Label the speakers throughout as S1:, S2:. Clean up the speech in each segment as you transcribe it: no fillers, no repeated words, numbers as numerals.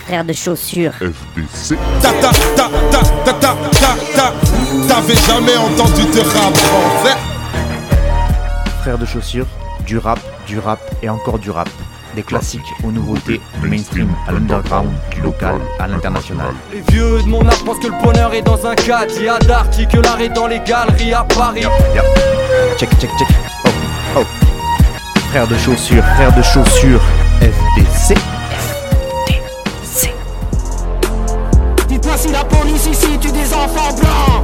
S1: frère de chaussures.
S2: FDC. T'avais jamais entendu de rap français?
S3: Frère de chaussures, du rap et encore du rap. Des classiques aux nouveautés, du mainstream à l'underground, du local à l'international.
S4: Les vieux de mon âge pensent que le bonheur est dans un cadre. Il y a d'arty que l'art est dans les galeries à Paris.
S3: Check. Oh. Frère de chaussures, FDC.
S5: Dites-moi si la police ici tue des enfants blancs.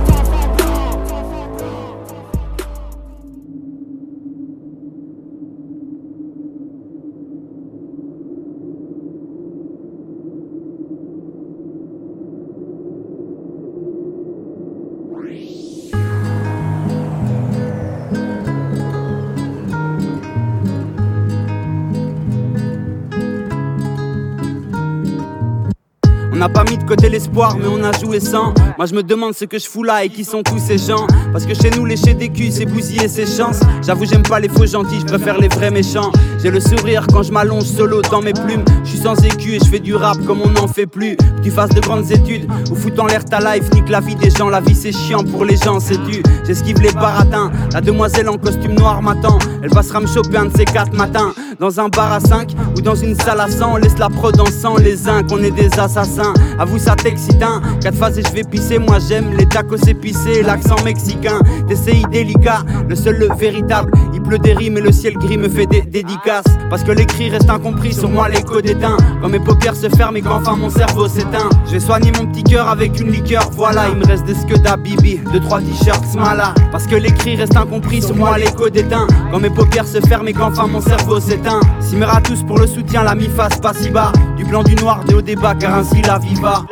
S4: On n'a pas mis de côté l'espoir mais on a joué sans. Moi je me demande ce que je fous là et qui sont tous ces gens. Parce que chez nous lécher des culs c'est bousiller ses chances. J'avoue j'aime pas les faux gentils, je préfère les vrais méchants. J'ai le sourire quand je m'allonge solo dans mes plumes. Je suis sans écu et je fais du rap comme on n'en fait plus. Que tu fasses de grandes études ou fout en l'air ta life, nique la vie des gens. La vie c'est chiant pour les gens, c'est dû. J'esquive les baratins. La demoiselle en costume noir m'attend. Elle passera me choper un de ces 4 matins. Dans un bar à 5 ou dans une salle à 100. On laisse la prod en sang les uns qu'on est des assassins. Avoue ça t'excite hein. 4 phases et je vais pisser. Moi j'aime les tacos épicés, l'accent mexicain. TCI délicat, le seul le véritable. Il pleut des rimes et le ciel gris me fait des dédicaces. Parce que l'écrit reste incompris, sur moi l'écho d'éteint. Quand mes paupières se ferment et qu'enfin mon cerveau s'éteint. Je vais soigner mon petit cœur avec une liqueur. Voilà, il me reste des scuds Bibi, 2-3 t-shirts Smala. Parce que l'écrit reste incompris, sur moi l'écho d'éteint. Quand mes paupières se ferment et qu'enfin mon cerveau s'éteint. Simera tous pour le soutien, la mi-face pas si bas. Du blanc du noir, des hauts débats, car ainsi la vie va.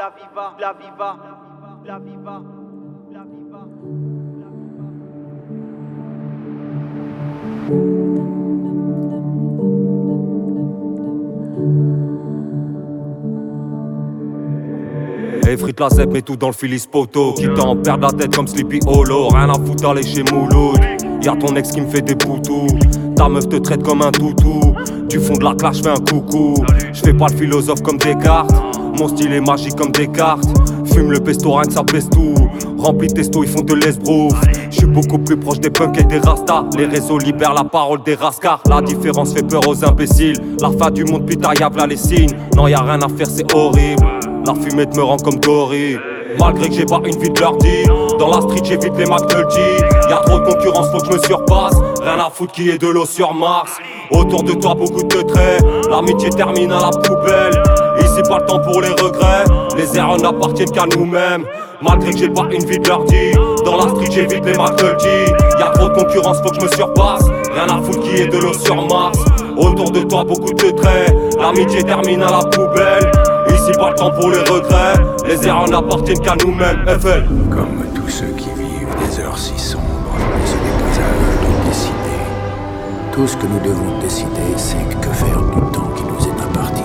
S4: Hey frite la zep, mets tout dans le Phyllis Poto. Qui t'en perd la tête comme Sleepy Hollow. Rien à foutre aller chez Mouloud. Y'a ton ex qui me fait des poutous. Ta meuf te traite comme un toutou. Tu fonds de la clash, fais un coucou. J'fais pas le philosophe comme Descartes. Mon style est magique comme Descartes. Fume le pesto, rien que ça pèse tout. Rempli de testo, ils font de l'esbrouf. J'suis beaucoup plus proche des punks et des rastas. Les réseaux libèrent la parole des rascars. La différence fait peur aux imbéciles. La fin du monde, putain, y'a v'là les signes. Non, y'a rien à faire, c'est horrible. La fumette me rend comme Dory. Malgré que j'ai pas une vie de l'ordi. Dans la street j'évite les McNulty. Y'a trop de concurrence, faut que je me surpasse. Rien à foutre qui est de l'eau sur Mars. Autour de toi beaucoup de traits. L'amitié termine à la poubelle. Ici pas le temps pour les regrets. Les erreurs n'appartiennent qu'à nous-mêmes. Malgré que j'ai pas une vie de l'ordi. Dans la street j'évite les McNulty. Y'a trop de concurrence, faut que je me surpasse. Rien à foutre qui est de l'eau sur Mars. Autour de toi beaucoup de traits. L'amitié termine à la poubelle. Ici pas le temps pour les regrets. Les erreurs n'appartiennent qu'à nous-mêmes. FL.
S6: Comme tous ceux qui vivent des heures si sombres, ce n'est pas à eux de décider. Tout ce que nous devons décider, c'est que faire du temps qui nous est imparti.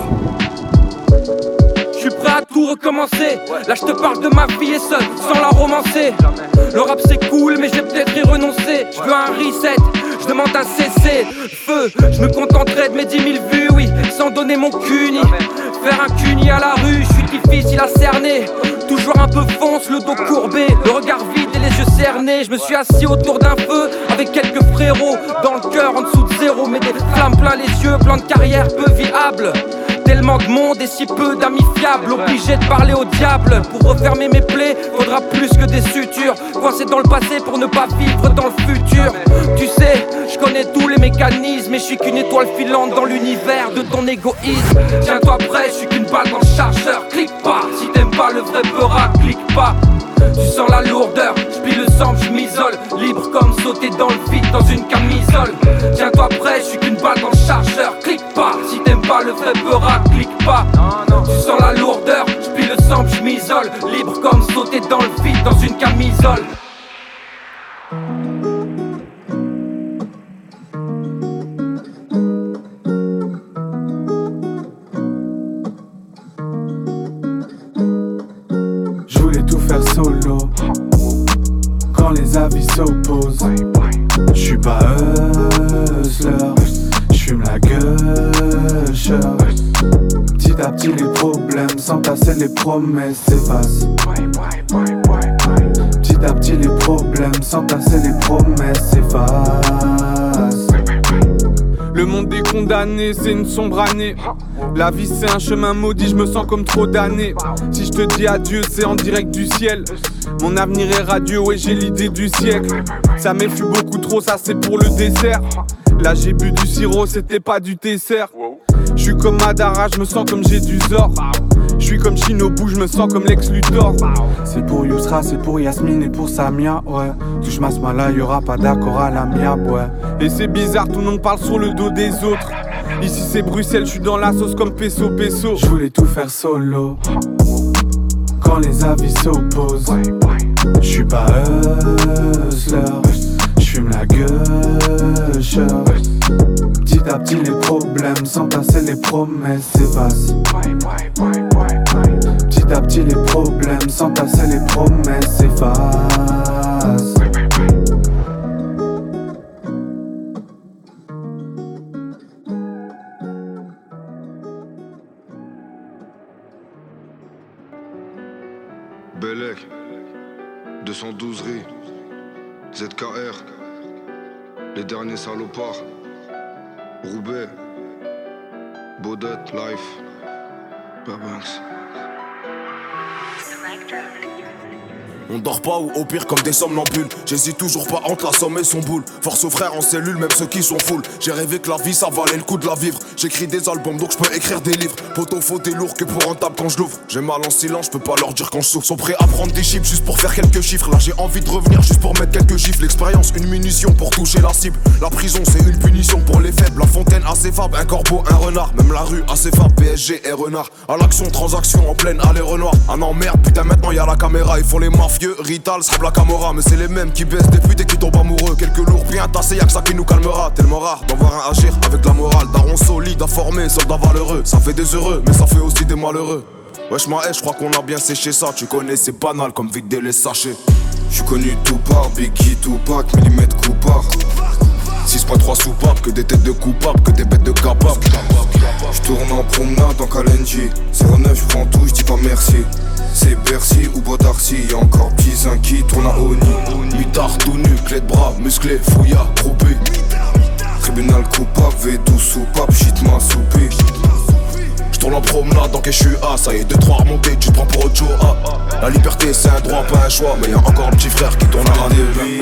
S4: Je suis prêt à tout recommencer. Là je te parle de ma vie et seul, sans la romancer. Le rap c'est cool mais j'ai peut-être y renoncer. Je veux un reset, je demande un cessez feu. Je me contenterai de mes 10 000 vues, oui, sans donner mon cuni. Faire un cuni à la rue, je suis difficile à cerner. Toujours un peu fonce, le dos courbé, le regard vide et les yeux cernés. Je me suis assis autour d'un feu avec quelques frérots. Dans le cœur en dessous de zéro, mais des flammes plein les yeux, plan de carrière peu viable. Tellement de monde et si peu d'amis fiables. Obligé de parler au diable. Pour refermer mes plaies, faudra plus que des sutures. Coincé dans le passé pour ne pas vivre dans le futur. Tu sais, je connais tous les mécanismes. Et je suis qu'une étoile filante dans l'univers de ton égoïsme. Tiens-toi prêt, je suis qu'une balle dans le chargeur. Clique pas, si t'aimes pas le vrai peurat, clique pas. Tu sens la lourdeur, j'plie le sang, j'm'isole. Libre comme sauter dans le vide dans une camisole. Tiens-toi prêt, je suis qu'une balle dans le chargeur. Clique pas, si t'aimes pas le vrai peurat, clique pas. Tu sens la lourdeur, j'plie le sang, j'm'isole. Libre comme sauter dans le vide dans une camisole.
S7: Solo, quand les avis s'opposent. J'suis pas hustler, j'fume la gueule, petit Petit à petit les problèmes s'entassent et les promesses s'effacent. Petit à petit les problèmes s'entassent et les promesses s'effacent.
S1: Le monde est condamné, c'est une sombre année. La vie c'est un chemin maudit, je me sens comme trop damné. Si je te dis adieu, c'est en direct du ciel. Mon avenir est radieux, ouais j'ai l'idée du siècle. Ça m'effue beaucoup trop, ça c'est pour le dessert. Là j'ai bu du sirop, c'était pas du dessert. Je suis comme Madara, je me sens comme j'ai du Zor. Je suis comme Shinobu, je me sens comme Lex Luthor.
S7: C'est pour Yousra, c'est pour Yasmine et pour Samia, ouais. Touche ma smala, y'aura pas d'accord à la miab, ouais.
S1: Et c'est bizarre, tout le monde parle sur le dos des autres. Ici c'est Bruxelles, je suis dans la sauce comme Peso.
S7: Je voulais tout faire solo. Quand les avis s'opposent, je suis pas hustler, je fume la gueule. Petit à petit les problèmes s'entassent et les promesses s'effacent. Petit à petit les problèmes s'entassent et les promesses s'effacent.
S8: Bellec, 212 Ri, ZKR, les derniers salopards, Roubaix, Baudet, Life, Babanks.
S9: On dort pas ou au pire comme des somnambules. J'hésite toujours pas entre la somme et son boule. Force aux frères en cellule, même ceux qui sont full. J'ai rêvé que la vie ça valait le coup de la vivre. J'écris des albums donc je peux écrire des livres. Poteau faut des lourds que pour rentable quand je l'ouvre. J'ai mal en silence, je peux pas leur dire quand je souffre. Sont prêts à prendre des chips juste pour faire quelques chiffres. Là j'ai envie de revenir juste pour mettre quelques gifles. L'expérience, une munition pour toucher la cible. La prison c'est une punition pour les faibles. La fontaine assez fable, un corbeau, un renard. Même la rue assez fable, PSG et renard. À l'action, transaction en pleine allée Renoir. Ah non merde, putain maintenant y'a la caméra. Ils font les mafieux, Rital, la Camorra, mais c'est les mêmes qui baissent des putes et qui tombent amoureux. Quelques lourds bien tassés, y'a que ça qui nous calmera. Tellement rare d'en voir un agir avec la morale. Daron solide, informé, soldat valeureux. Ça fait des heureux, mais ça fait aussi des malheureux. Wesh ma haine, j'crois qu'on a bien séché ça. Tu connais, c'est banal comme vider les sachets. J'suis connu tout par Biggie, Tupac, millimètre coupard. 6.3 soupapes, que des têtes de coupables, que des bêtes de capables. J'tourne en promenade en Kalenji. 09, j'prends tout, j'dis pas merci. C'est Bercy ou Bodarcy, y'a encore petits uns qui tournent à Oni. Mitard tout nu, clé de bras, musclé, fouilla, groupé. Tribunal coupable, V12 soupape, shit m'a soupé. J'tourne en promenade dans je suis A, ça y est 2-3 remontés, tu te prends pour autre chose. La liberté c'est un droit, pas un choix, mais y'a encore un petit frère qui tourne à l'année.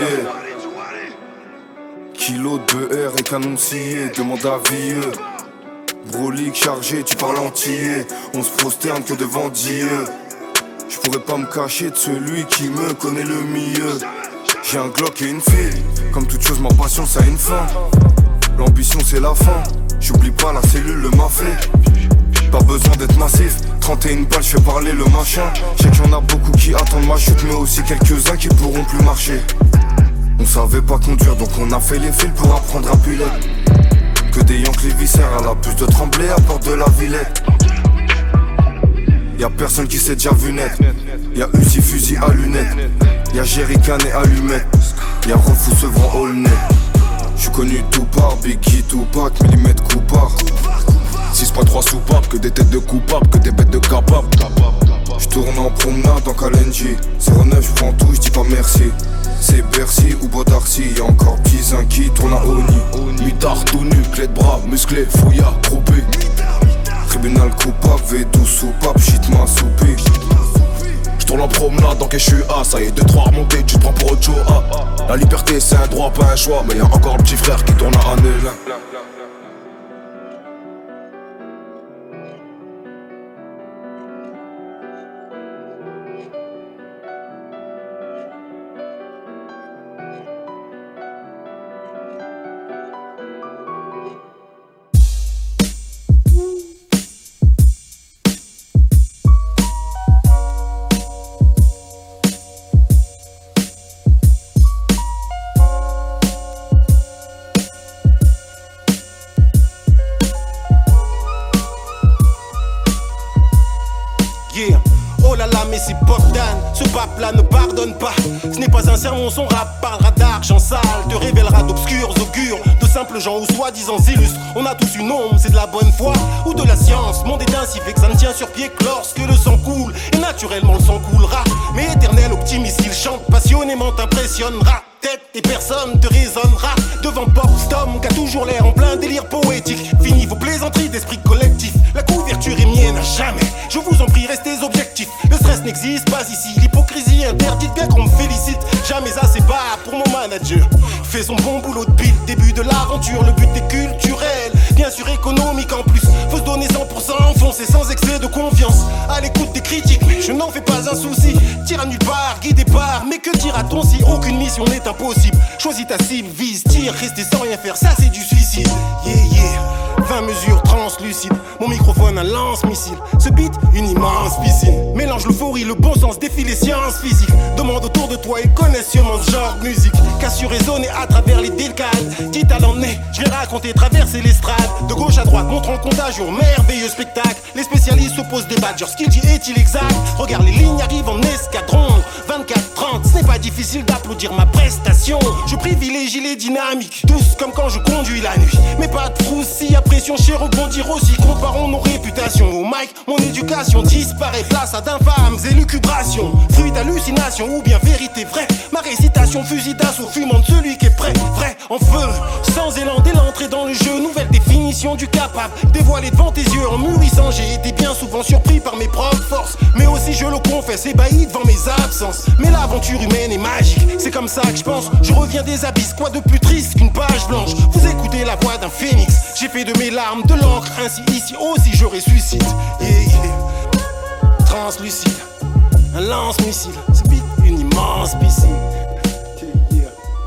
S9: Kilo de BR et canon scié, demande à vieux. Brolique chargé, tu parles entier. On se prosterne que devant Dieu. Je pourrais pas me cacher de celui qui me connaît le mieux. J'ai un Glock et une fille. Comme toute chose, ma passion ça a une fin. L'ambition c'est la fin. J'oublie pas la cellule, le mafé. Pas besoin d'être massif. 31 balles, je fais parler le machin. Je sais qu'il y en a beaucoup qui attendent ma chute, mais aussi quelques-uns qui pourront plus marcher. On savait pas conduire donc on a fait les fils pour apprendre à piloter. Que des Yanks les viscères à la puce de Tremblay à porte de la Villette. Y'a personne qui s'est déjà vu net. Y'a Uzi fusil à lunettes. Y'a Jerrycan et allumette. Y'a Refou Sevran all net. J'suis connu tout par Biggie, Tupac, millimètre coupard. 6.3 soupapes, que des têtes de coupables, que des bêtes de capables. J'tourne en promenade en Kalenji. 09, j'prends tout, j'dis pas merci. C'est Bercy ou Bodarcy, y'a encore petits uns qui tournent à Oni. Mitard tout nu, clé de bras, musclé, fouilla, groupé. Tribunal coupable, V12 soupape, shit m'a soupé. J'tourne en promenade dans je suis A, ça y est 2-3 remontés, tu te prends pour autre chose. La liberté c'est un droit, pas un choix, mais y'a encore le petit frère qui tourne à Annelin.
S10: pas un sermon, son rap parlera d'argent sale, te révélera d'obscurs augures, de simples gens ou soi-disant illustres. On a tous une ombre, c'est de la bonne foi ou de la science. Mon dédain si fait que ça ne tient sur pied que lorsque le sang coule. Et naturellement le sang coulera, mais éternel optimiste, il chante passionnément, t'impressionnera. Tête et personne te raisonnera devant Bob-Stom qui a toujours l'air en plein délire poétique. Fini vos plaisanteries d'esprit collectif, la couverture est mienne à jamais. Je vous en prie, restez objectifs. Le stress n'existe pas ici, l'hypocrisie interdite, bien qu'on me félicite. Jamais assez bas pour mon manager. Fait son bon boulot depuis le début de l'aventure. Le but est culturel, bien sûr économique en plus. Faut se donner 100%, foncer sans excès de confiance. À l'écoute des critiques, mais je n'en fais pas un souci. Tire à nulle part, guidé par, mais que dira-t-on si aucune mission n'est impossible? Choisis ta cible, vise, tire, rester sans rien faire, ça c'est du suicide. Yeah, yeah. 20 mesures translucides, mon microphone un lance-missile. Ce beat, une immense piscine. Mélange l'euphorie, le bon sens, défie les sciences physiques. Demande autour de toi et connais sûrement ce genre de musique. Qu'à su résonner à travers les décades. Quitte à l'emmener, je vais raconter, traverser l'estrade. De gauche à droite, montrant contagion, merveilleux spectacle. Les spécialistes s'opposent des badgers, ce qu'il dit est-il exact? Regarde, les lignes arrivent en escadron. 24-30, ce n'est pas difficile d'applaudir ma prestation. Je privilégie les dynamiques, douces comme quand je conduis la nuit. Mais pas de frousse si après pression, chez rebondir aussi, comparons nos réputations. Au mic, mon éducation disparaît, place à d'infâmes élucubrations. Fruit d'hallucination ou bien vérité vraie. Ma récitation, fusil d'assaut, fumant de celui qui est prêt. Vrai, en feu, sans élan dès l'entrée dans le jeu. Nouvelle définition du capable, dévoilé devant tes yeux. En mûrissant, j'ai été bien souvent surpris par mes propres forces. Mais aussi, je le confesse, ébahi devant mes absences. Mais l'aventure humaine est magique, c'est comme ça que je pense. Je reviens des abysses, quoi de plus triste qu'une page blanche. Vous écoutez la voix d'un phénix. J'ai fait de mes larmes de l'encre, ainsi ici aussi je ressuscite. Yeah, yeah. Translucide, un lance-missile, c'est vite une immense piscine. Yeah.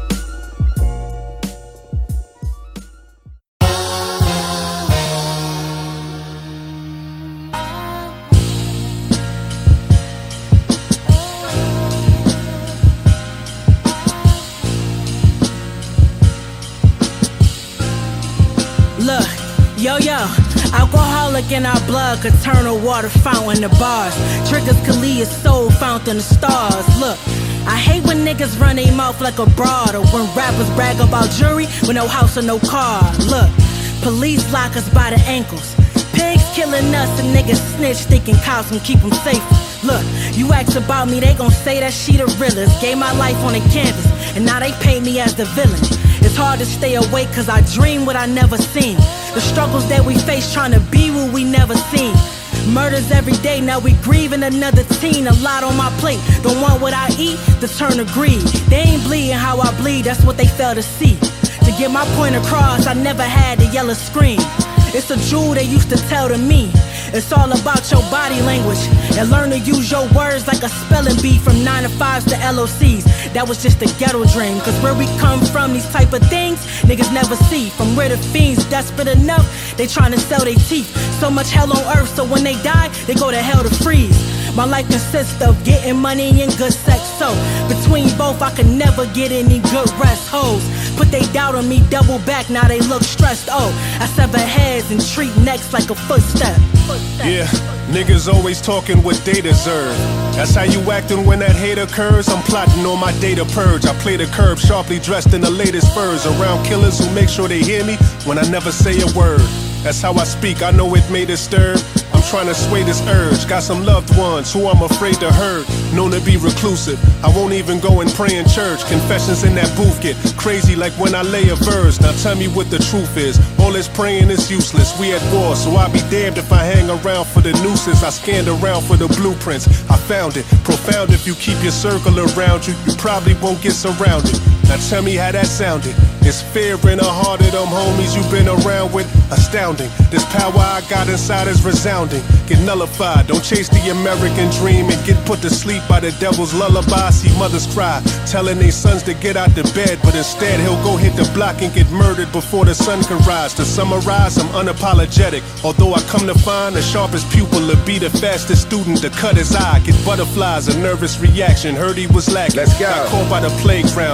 S11: Look, yo, alcoholic in our blood could turn a water fountain to bars. Triggers could lead a soul fountain to stars. Look, I hate when niggas run their mouth like a broad, or when rappers brag about jewelry with no house or no car. Look, police lock us by the ankles. Pigs killing us and niggas snitch, thinking cops can keep them safe. Look, you ask about me, they gon' say that she the realest. Gave my life on the canvas, and now they paint me as the villain. It's hard to stay awake cause I dream what I never seen. The struggles that we face trying to be what we never seen. Murders every day, now we grieving another teen. A lot on my plate, don't want what I eat, to turn to greed. They ain't bleeding how I bleed, that's what they fail to see. To get my point across, I never had the yellow screen. It's a jewel they used to tell to me. It's all about your body language and learn to use your words like a spelling bee. From 9 to 5s to LOCs, that was just a ghetto dream. Cause where we come from, these type of things niggas never see. From where the fiends desperate enough, they tryna sell their teeth. So much hell on earth, so when they die, they go to hell to freeze. My life consists of getting money and good sex. So between both, I could never get any good rest. Hoes put they doubt on me, double back, now they look stressed. Oh, I sever heads and treat necks like a footstep.
S12: Yeah, niggas always talking what they deserve. That's how you acting when that hate occurs. I'm plotting on my data purge. I play the curb, sharply dressed in the latest furs. Around killers who make sure they hear me when I never say a word. That's how I speak, I know it may disturb. I'm trying to sway this urge. Got some loved ones who I'm afraid to hurt. Known to be reclusive, I won't even go and pray in church. Confessions in that booth get crazy like when I lay a verse. Now tell me what the truth is. All this praying is useless. We at war, so I'll be damned if I hang around for the nooses. I scanned around for the blueprints. I found it. Profound if you keep your circle around you. You probably won't get surrounded. Now tell me how that sounded. It's fear in the heart of them homies you've been around with. Astounding. This power I got inside is resounding. Get nullified. Don't chase the American dream and get put to sleep by the devil's lullaby. See mothers cry, telling their sons to get out the bed, but instead he'll go hit the block and get murdered before the sun can rise. To summarize, I'm unapologetic. Although I come to find the sharpest pupil to be the fastest student to cut his eye. Get butterflies, a nervous reaction. Heard he was lacking.
S13: Let's go.
S12: Got caught by the playground. I sit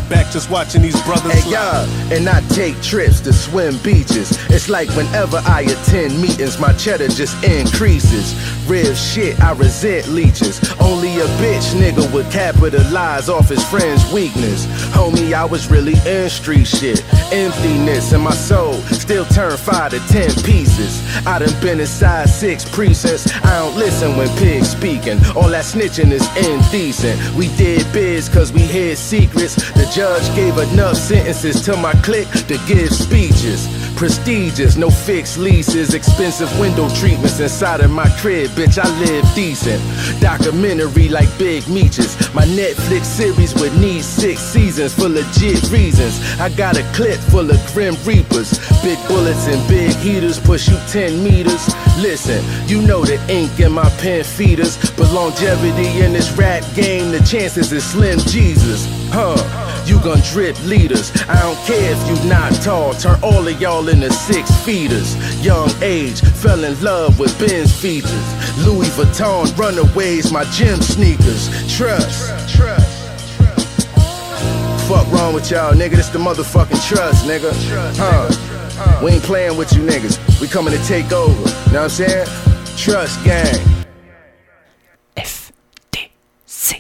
S12: back just watching these brothers
S13: hey, yeah, and I take trips to swim beaches. It's like whenever I attend meetings, my cheddar just increases. Real shit, I resent leeches. Only a bitch nigga would capitalize off his friend's weakness. Homie, I was really in street shit. Emptiness in my soul still turn 5 to 10 pieces. I done been inside 6 precincts. I don't listen when pigs speaking. All that snitching is indecent. We did biz cause we hid secrets. The judge gave enough sentences to my clique to give speeches. Prestigious, no fixed leases, expensive window treatments inside of my crib. Bitch, I live decent. Documentary like Big Meaches. My Netflix series would need 6 seasons for legit reasons. I got a clip full of Grim Reapers. Big bullets and big heaters push you 10 meters. Listen, you know the ink in my pen feeders. But longevity in this rap game, the chances is slim Jesus. You gon' drip leaders. I don't care if you not tall. Turn all of y'all into 6 feeders. Young age, fell in love with Benz features. Louis Vuitton runaways, my gym sneakers. Trust. Fuck wrong with y'all, nigga? This the motherfucking trust, nigga. We ain't playing with you niggas. We coming to take over. Know what I'm saying? Trust gang.
S14: FDC.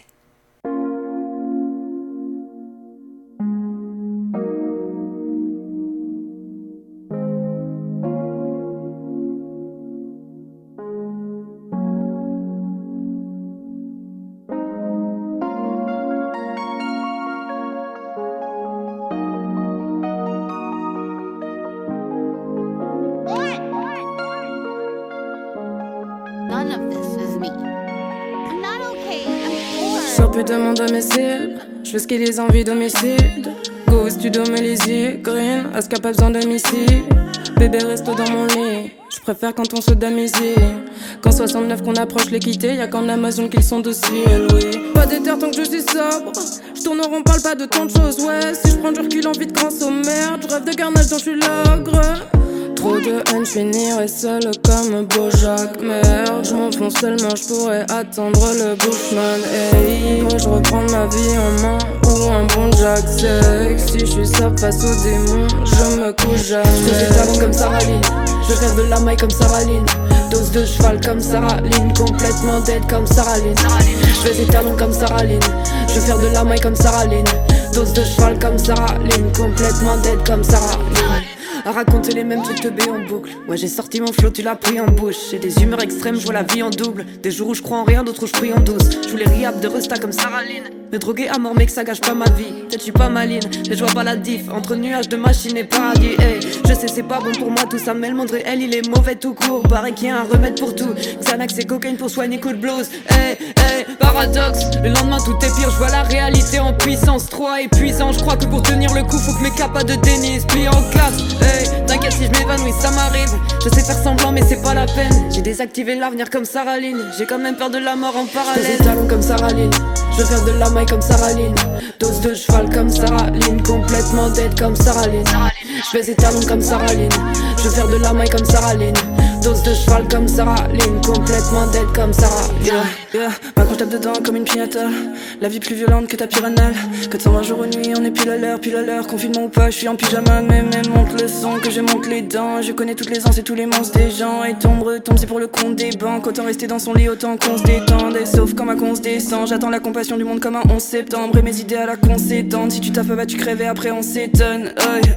S15: Sors plus de mon domicile, je fais ce qui les envie d'homicide. Go au studio me les yeux, green, Aska pas besoin de missile. Bébé reste dans mon lit, je préfère quand on se damésile. Qu'en 69 qu'on approche l'équité, y'a qu'en Amazon qu'ils sont dociles, oui. Pas d'éther tant que je suis sobre, je tourne en rond, parle pas de tant de choses, ouais. Si je prends du recul, envie de grâce aux merdes, je rêve de carnage dont je suis l'ogre. Trop de haine, je finirai seul comme Bojack. Merde, je m'enfonce tellement, je pourrais attendre le Bushman. Hey, moi je reprends ma vie en main ou un bon Jack sec. Si je suis sable face aux démons, je me couche jamais. Je fais des talons comme Sarah Lynn, je rêve de la maille comme Sarah Lynn. Dose de cheval comme Sarah Lynn, complètement dead comme Sarah Lynn. Je fais des talons comme Sarah Lynn, je veux faire de la maille comme Sarah Lynn. Dose de cheval comme Sarah Lynn, complètement dead comme Sarah Lynn. À raconter les mêmes trucs de B en boucle. Ouais, j'ai sorti mon flow, tu l'as pris en bouche. J'ai des humeurs extrêmes, je vois la vie en double. Des jours où je crois en rien, d'autres où je prie en douce. Je voulais riap de Resta comme Sarah Lynn. Me droguer à mort, mec, ça gâche pas ma vie. Peut-être je suis pas maline, mais je vois pas la diff entre nuages de machines et paradis. Hey, je sais c'est pas bon pour moi tout ça, mais le monde réel il est mauvais tout court. Paraît qu'il y a un remède pour tout. Xanax et cocaïne pour soigner coup de blues. Hey, hey, paradoxe. Le lendemain tout est pire, je vois la réalité en puissance. 3 épuisant, je crois que pour tenir le coup faut que mes capas de tennis plient en 4. Hey, t'inquiète si je m'évanouis, ça m'arrive. Je sais faire semblant mais c'est pas la peine. J'ai désactivé l'avenir comme Sarah Lynn. J'ai quand même peur de la mort en parallèle. Je fais des talons comme Sarah Lynn, je veux faire de la maille comme Sarah Lynn. Dose de cheval comme Sarah Lynn, complètement dead comme Sarah Lynn. Je fais des talons comme Sarah Lynn, je veux faire de la maille comme Sarah Lynn. Dose de cheval comme Sarah Lynn, complètement dead comme Sarah Lynn. Yeah, maintenant je tape dedans comme une pignata. La vie plus violente que ta piranale. 420 jours et nuit, on est pile à l'heure. Confinement ou pas, je suis en pyjama. Même monte le son, que je monte les dents. Je connais toutes les ans, c'est tous les monstres des gens. Et tombe, c'est pour le compte des banques. Autant rester dans son lit, autant qu'on se détende. Et sauf quand ma con se descend, j'attends la compassion du monde comme un 11 septembre. Et mes idées à la con s'étendent. Si tu taffes pas, tu crèves et après on s'étonne.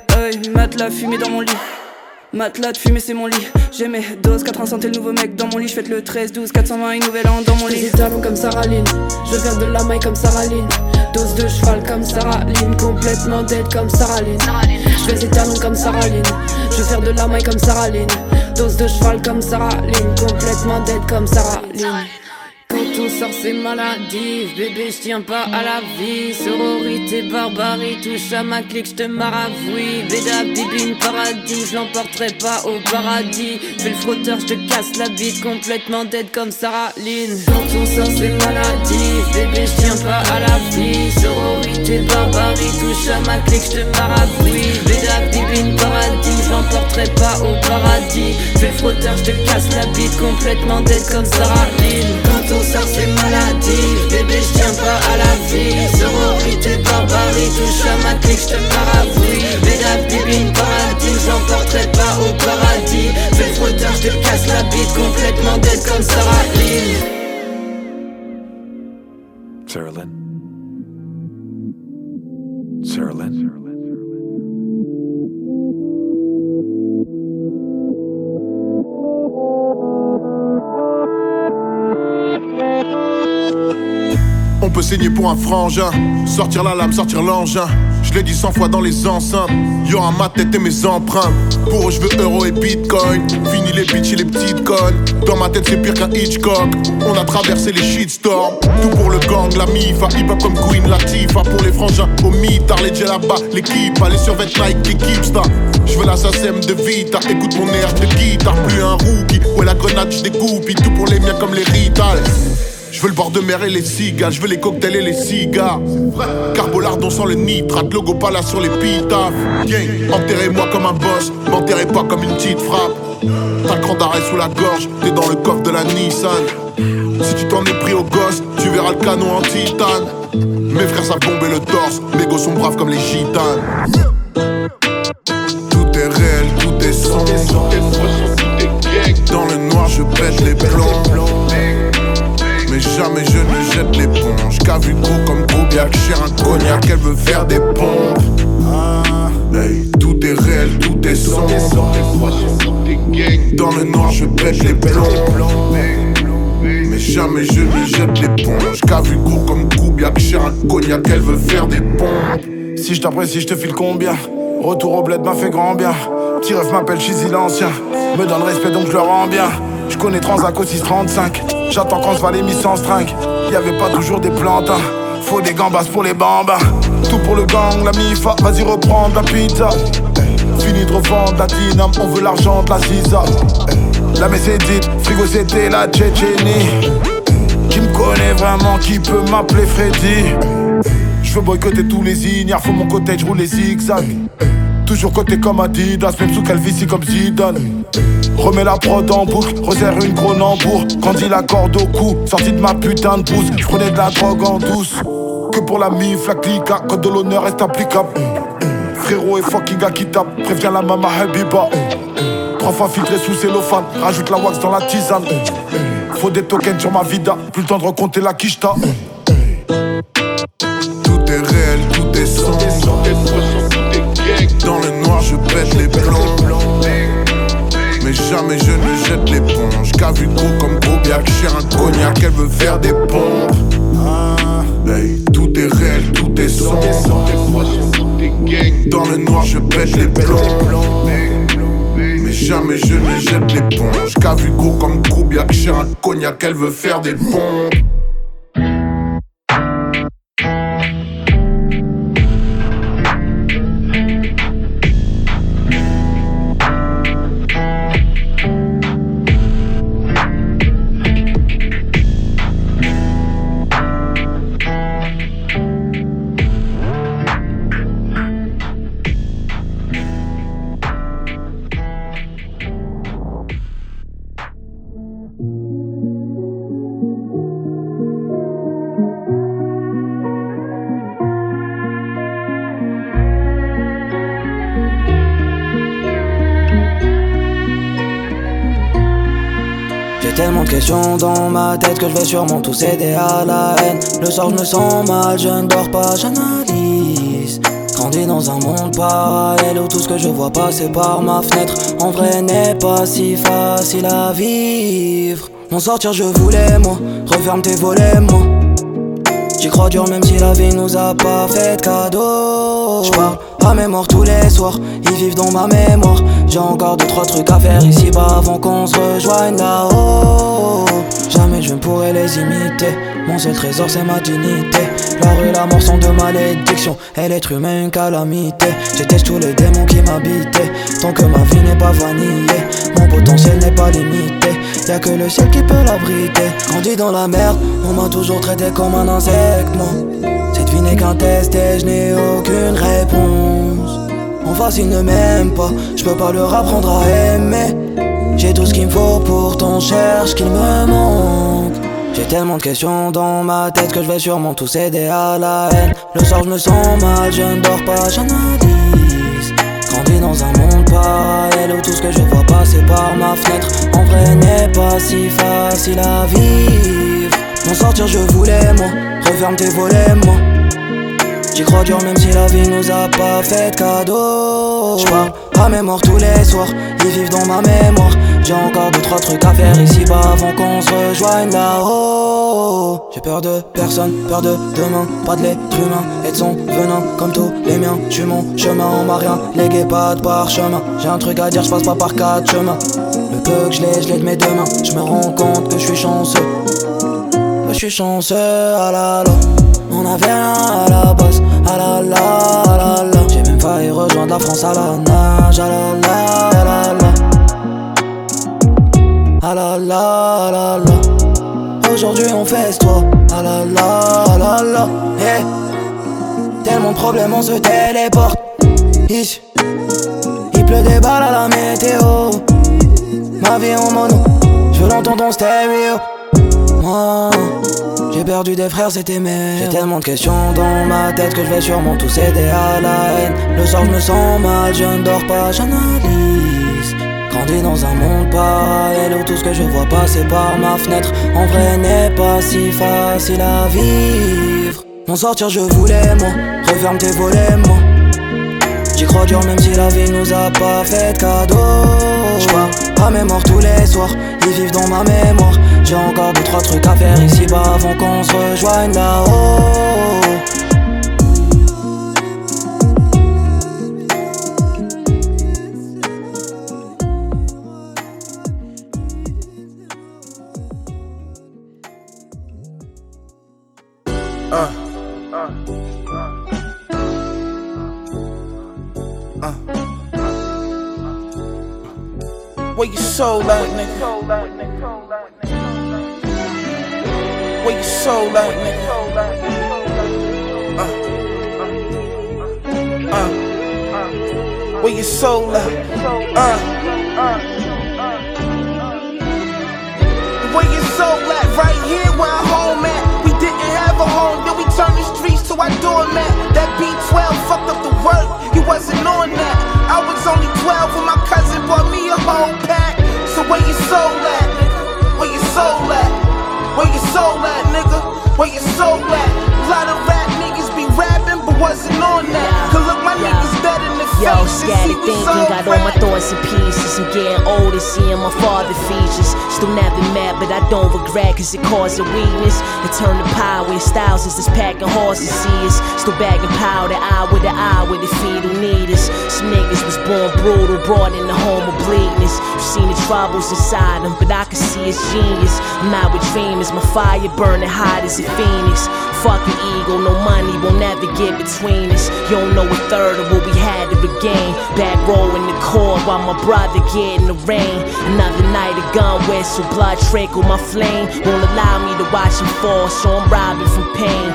S15: Matelas fumé dans mon lit. Matelas de fumée c'est mon lit. J'ai mes doses, 80 cents t'es le nouveau mec dans mon lit. J'fête le 13, 12, 420 une nouvelle an dans mon lit. J'fais des talons comme Sarah Lynn, je veux faire de la maille comme Sarah Lynn. Dose de cheval comme Sarah Lynn, complètement dead comme Sarah Lynn. J'fais des talons comme Sarah Lynn, je veux faire de la maille comme Sarah Lynn. Dose de cheval comme Sarah Lynn, complètement dead comme Sarah Lynn. Quand on sort c'est maladif, bébé j'tiens pas à la vie. Sororité, barbarie, touche à ma clique, j'te maravouille. Béda, bibine, paradis, j'lemporterai pas au paradis. Fais le frotteur, j'te casse la bite, complètement dead comme Sarah Lynn. Quand on sort c'est maladif, bébé j'tiens pas à la vie. Sororité, barbarie, touche à ma clique, j'te maravouille. Béda, bibine, paradis, j'lemporterai pas au paradis. Fais le frotteur, j'te casse la bite, complètement dead comme Sarah Lynn. Quand on sort c'est maladif, bébé j'tiens pas à la vie. Sororité, barbarie,
S5: touches à ma clique, j'te maravouille. Bédave, bibine, paradis, j'emporterai pas au paradis. Fais le frotteur, j'te casse la bite complètement dead comme Sarah Lynn.
S14: Sarah Lynn. Sarah Lynn.
S2: On peut saigner pour un frangin, sortir la lame, sortir l'engin. Je l'ai dit 100 fois dans les enceintes. Y'aura ma tête et mes empreintes. Pour eux je veux euro et bitcoin. Fini les bitches et les petites connes. Dans ma tête c'est pire qu'un Hitchcock. On a traversé les shitstorms. Tout pour le gang, la mifa. Hip-hop comme Queen Latifah. Pour les frangins, au mitard, les djellabas, l'équipe. Les survêt Nike, l'équipe star. Je veux la SACEM de Vita. Écoute mon air de guitare. Plus un rookie. Ouais la grenade j'dégoupille. Tout pour les miens comme les Rital. Je veux le bord de mer et les cigales, je veux les cocktails et les cigares. Carbolardon sans le nitrate, logo pas là sur les pitafs. Enterrez-moi comme un boss, m'enterrez pas comme une petite frappe. T'as le cran d'arrêt sous la gorge, t'es dans le coffre de la Nissan. Si tu t'en es pris au gosse, tu verras le canon en titane. Mes frères savent bomber le torse, mes gosses sont braves comme les gitanes. Tout est réel, tout est sombre. Dans le noir je pète les plombs. Mais jamais je ne jette l'éponge. Qu'a vu gros comme Koubiak, cher un cognac, elle veut faire des pompes. Hey, tout est réel, tout est sombre. Dans le noir je pète les plombs. Mais jamais je ne jette l'éponge. Qu'a vu gros comme Koubiak, cher un cognac, elle veut faire des pompes.
S16: Si je t'apprécie, je te file combien? Retour au bled m'a fait grand bien. Petit ref m'appelle Chizy l'ancien. Me donne respect donc je le rends bien. Je connais Transac au 635. J'attends quand se va les mis sans string. Y'avait pas toujours des plantes, hein. Faut des gambas pour les bambas. Tout pour le gang, la mifa. Vas-y reprendre la pizza. Fini de revendre la dynam. On veut l'argent de la sisa. La messe est dite, frigo c'était la Tchétchénie. Qui me connaît vraiment, qui peut m'appeler Freddy. Je veux boycotter tous les ignares. Faut mon côté, je roule les zigzags. Toujours côté comme Adidas, même sous calvitie comme Zidane. Remets la prod en boucle, resserre une Cronenbourg. Grandis la corde au cou, sorti de ma putain de pouce. J'prenais de la drogue en douce. Que pour la mif, la clica, code de l'honneur reste applicable. Frérot et fucking gars qui tape, préviens la mama Habiba. 3 fois filtré sous cellophane, rajoute la wax dans la tisane. Faut des tokens sur ma vida, plus le temps de recompter la quicheta.
S2: Tout est réel, tout est sombre. Dans le noir je pète les plombs. Mais jamais je ne jette l'éponge. Qu'a vu gros comme Koubiak, cher un cognac, elle veut faire des pompes. Hey, tout est réel, tout est sombre. Dans le noir je pète les plombs. Mais jamais je ne jette l'éponge. Qu'a vu gros comme Koubiak, cher un cognac, elle veut faire des pompes.
S17: Tellement de questions dans ma tête que je vais sûrement tout céder à la haine. Le soir je me sens mal, je ne dors pas, j'analyse. Grandi dans un monde parallèle où tout ce que je vois passer par ma fenêtre en vrai n'est pas si facile à vivre. M'en sortir je voulais moi, referme tes volets moi. J'y crois dur même si la vie nous a pas fait de cadeau. J'parle à mes morts tous les soirs, ils vivent dans ma mémoire. J'ai encore 2-3 trucs à faire ici-bas avant qu'on se rejoigne là-haut. Jamais je ne pourrai les imiter, mon seul trésor c'est ma dignité. La rue, la mort sont de malédiction, et l'être humain une calamité. J'éteigne tous les démons qui m'habitaient, tant que ma vie n'est pas vanillée. Mon potentiel n'est pas limité, y'a que le ciel qui peut l'abriter. Grandi dans la merde, on m'a toujours traité comme un insecte, moi. Cette vie n'est qu'un test et je n'ai aucune réponse. En face ils ne m'aiment pas, je peux pas leur apprendre à aimer. J'ai tout ce qu'il me faut, pourtant cherche qu'il me manque. J'ai tellement de questions dans ma tête que je vais sûrement tous céder à la haine. Le soir je me sens mal, je ne dors pas, j'analyse. Grandi dans un monde parallèle où tout ce que je vois passer par ma fenêtre en vrai n'est pas si facile à vivre. M'en sortir je voulais moi, referme tes volets moi. J'y crois dur même si la vie nous a pas fait de cadeau. J'parle à mémoire tous les soirs, ils vivent dans ma mémoire. J'ai encore 2-3 trucs à faire ici-bas avant qu'on se rejoigne là-haut. J'ai peur de personne, peur de demain, pas de l'être humain et de son venin comme tous les miens. J'suis mon chemin, on m'a rien légué, pas de parchemin. J'ai un truc à dire, j'passe pas par 4 chemins. Le peu que je l'ai de mes deux mains. J'me rends compte que j'suis chanceux. Je suis chanceux, ah la la. On avait rien à la base, ah la la, ah la la. J'ai même failli rejoindre la France à la nage, ah la la, ah la la. Ah la la, ah la la. Aujourd'hui on fesse-toi, ah la la, ah la la. Hey. Tellement de problèmes on se téléporte. Ici, il pleut des balles à la météo. Ma vie en mono, je veux l'entendre en stéréo. Moi, j'ai perdu des frères, c'était mes. J'ai tellement de questions dans ma tête que je vais sûrement tous céder à la haine. Le soir je me sens mal, je ne dors pas, j'analyse. Grandi dans un monde parallèle où tout ce que je vois passer par ma fenêtre en vrai n'est pas si facile à vivre. M'en sortir je voulais moi, referme tes volets moi. J'y crois dur même si la vie nous a pas fait de cadeau. J'parle à mémoire tous les soirs, ils vivent dans ma mémoire. J'ai encore 2-3 trucs à faire ici-bas avant qu'on se rejoigne là-haut.
S18: Where your soul at, nigga? Where your soul at, nigga? Where your soul at? Where your soul at? Right here where I'm home at. We didn't have a home, then we turned the streets to our doormat. That B12 fucked up the work, you wasn't on that. I was only 12 when my cousin bought me a whole pack. So where your soul at, nigga? Where your soul at? Where your soul at, nigga? Where your soul at? A lot of rap niggas be rapping, but wasn't on that. Cause look, my niggas dead in the face.
S19: Yo, scattered thinking, got all my thoughts in pieces. I'm getting older, seeing my father features. Still never mad, but I don't regret, cause it caused a weakness. It turned to power, styles is just packing horses, see us. Still bagging powder, eye with the fetal need us. Some niggas was born brutal, brought in the home of bleakness. You seen the troubles inside them, but I can see it's genius. I'm out with dreamers, my fire burning hot as a phoenix. Fucking ego, no money will never get between us. You don't know a third of what we had to regain. Back row in the court while my brother get in the rain. Another night of gun whistle, blood trickle, my flame won't allow me to watch him fall, so I'm robbing from pain.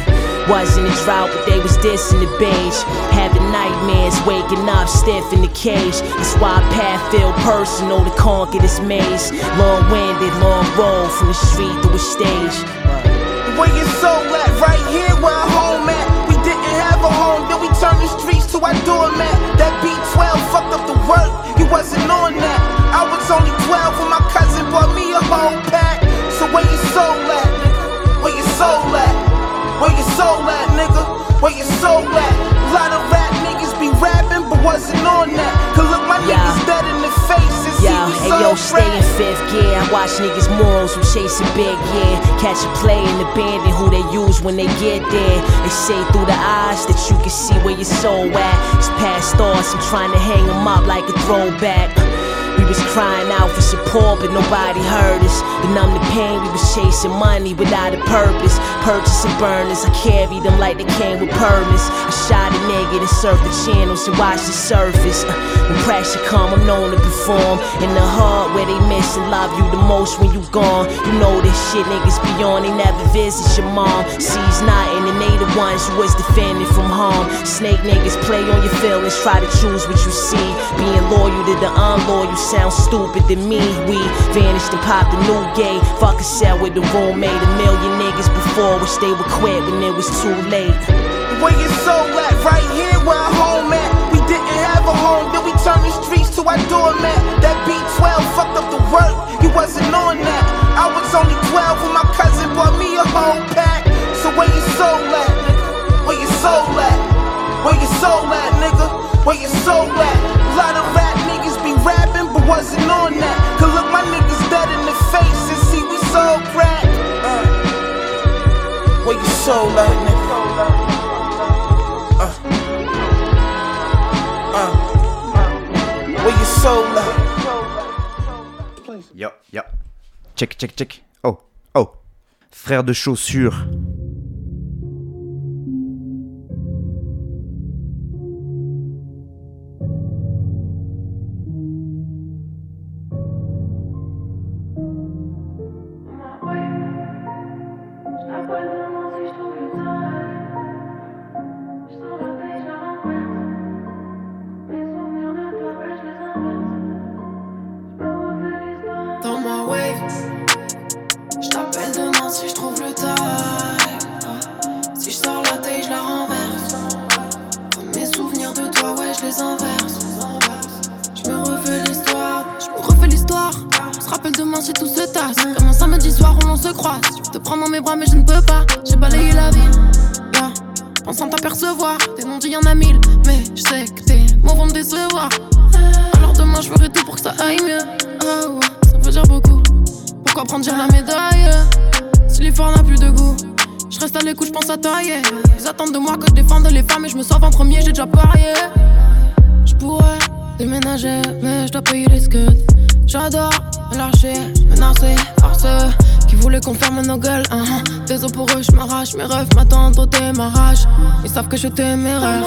S19: Wasn't a drought, but they was dissing the beige. Having nightmares, waking up stiff in the cage. That's why I path feel personal to conquer this maze. Long-winded, long road from the street to a stage.
S18: Where your soul at? Right here where I'm home at. We didn't have a home, then we turned the streets to our doormat. That B12 fucked up the work, you wasn't on that. I was only 12 when my cousin bought me a whole pack. So where your soul at, nigga? Where your soul at? Where your soul at, nigga? Where your soul at? A lot of rap niggas be rapping, but wasn't on that. Cause look, my niggas dead in the face.
S19: Yo, stay in fifth gear. I watch niggas morals who chasing big, yeah. Catch a play and abandon who they use when they get there. They say through the eyes that you can see where your soul at. It's past thoughts, I'm trying to hang them up like a throwback. We was crying out for support, but nobody heard us. To numb the pain, we was chasing money without a purpose. Purchasing burners, I carried them like they came with permits. I shot a nigga and surfed the channels and watched the surface. When pressure come, I'm known to perform. In the heart where they miss and love you the most when you gone. You know this shit niggas be on, they never visit your mom. Sees nothing and they the ones who was defending from harm. Snake niggas play on your feelings, try to choose what you see. Being loyal to the unloyal sound sound stupid to me. We vanished and popped a new gay. Fuck a cell with the roommate. A million niggas before wish they would quit when it was too late.
S18: Where your soul at? Right here where our home at. We didn't have a home, then we turned the streets to our doormat. That B12 fucked up the work, you wasn't on that. I was only 12 when my cousin bought me a whole pack. So where your soul at, nigga? Where your soul at? Where your soul at, nigga? Where your soul at? A lot of rap niggas be rapping, but wasn't on that. Cause look, my niggas dead in the face and see we sold crack. Where your soul at, nigga? Where your soul at?
S3: Yo, yo. Check, check, check. Oh, oh. Frère de chaussures.
S20: Mais je ne peux pas, j'ai balayé la ville, yeah. Pensant t'apercevoir, tes non-dits y'en a 1000. Mais je sais que tes mots vont me décevoir. Alors demain je ferai tout pour que ça aille mieux. Oh, ouais, ça veut dire beaucoup. Pourquoi prendre la médaille si l'effort n'a plus de goût? Je reste à l'écoute, je pense à tailler. Ils attendent de moi que je défende les femmes et je me sauve en premier, j'ai déjà parié. Je pourrais déménager, mais je dois payer les scuds. J'adore me lâcher, menacer par ceux qui voulaient qu'on ferme nos gueules. Désolé pour eux, je m'arrache, mes rêves m'attendent au démarrage. Ils savent que je suis téméraire.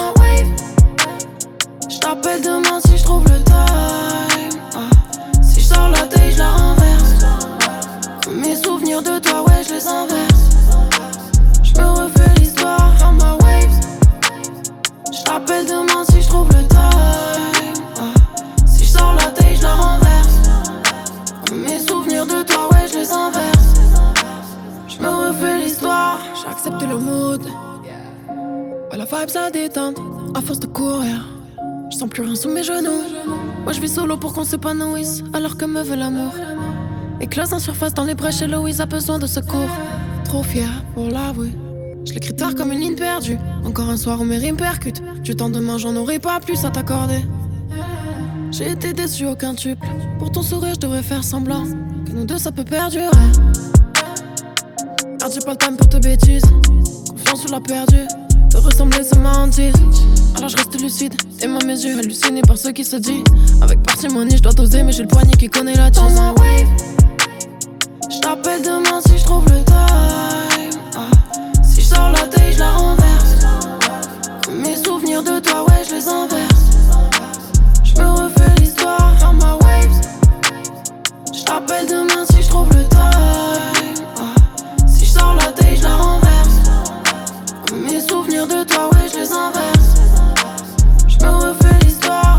S20: Je t'appelle demain si je trouve le time. Si je sors la tête, je la renverse. Mes souvenirs de toi, ouais, je les inverse. Je me refais l'histoire dans ma waves. Je t'appelle demain si je trouve le time. Si je sors la tête, je la renverse. Mes souvenirs de toi, ouais, je les inverse. Je me refais l'histoire. J'ai accepté le mood. Ouais, la vibe ça détente. À force de courir, je sens plus rien sous mes genoux. Moi je vis solo pour qu'on s'épanouisse, alors que me veut l'amour. Éclose en surface dans les brèches et Louise a besoin de secours. Trop fier pour l'avouer. Je l'écris tard comme une ligne perdue. Encore un soir où mes rimes percutent. Du temps demain j'en aurai pas plus à t'accorder. J'ai été déçu, aucun tuple. Pour ton sourire, je devrais faire semblant que nous deux ça peut perdurer. Car j'ai pas le time pour te bêtises. Confiance sur la perdue. Te ressembler, c'est ma hantise. Alors je reste lucide. Tes mains, mes yeux hallucinés par ce qui se dit. Avec parcimonie, je dois doser, mais j'ai le poignet qui connaît la tisse. Je t'appelle demain si je trouve le time. Si je sors la tête, je la renverse. Mes souvenirs de toi, ouais, je les inverse. Je me refais l'histoire dans ma waves. Je t'appelle demain si je trouve le time. Si je sors la tête, je la renverse. Mes souvenirs de toi, ouais, je les inverse. Je me refais l'histoire.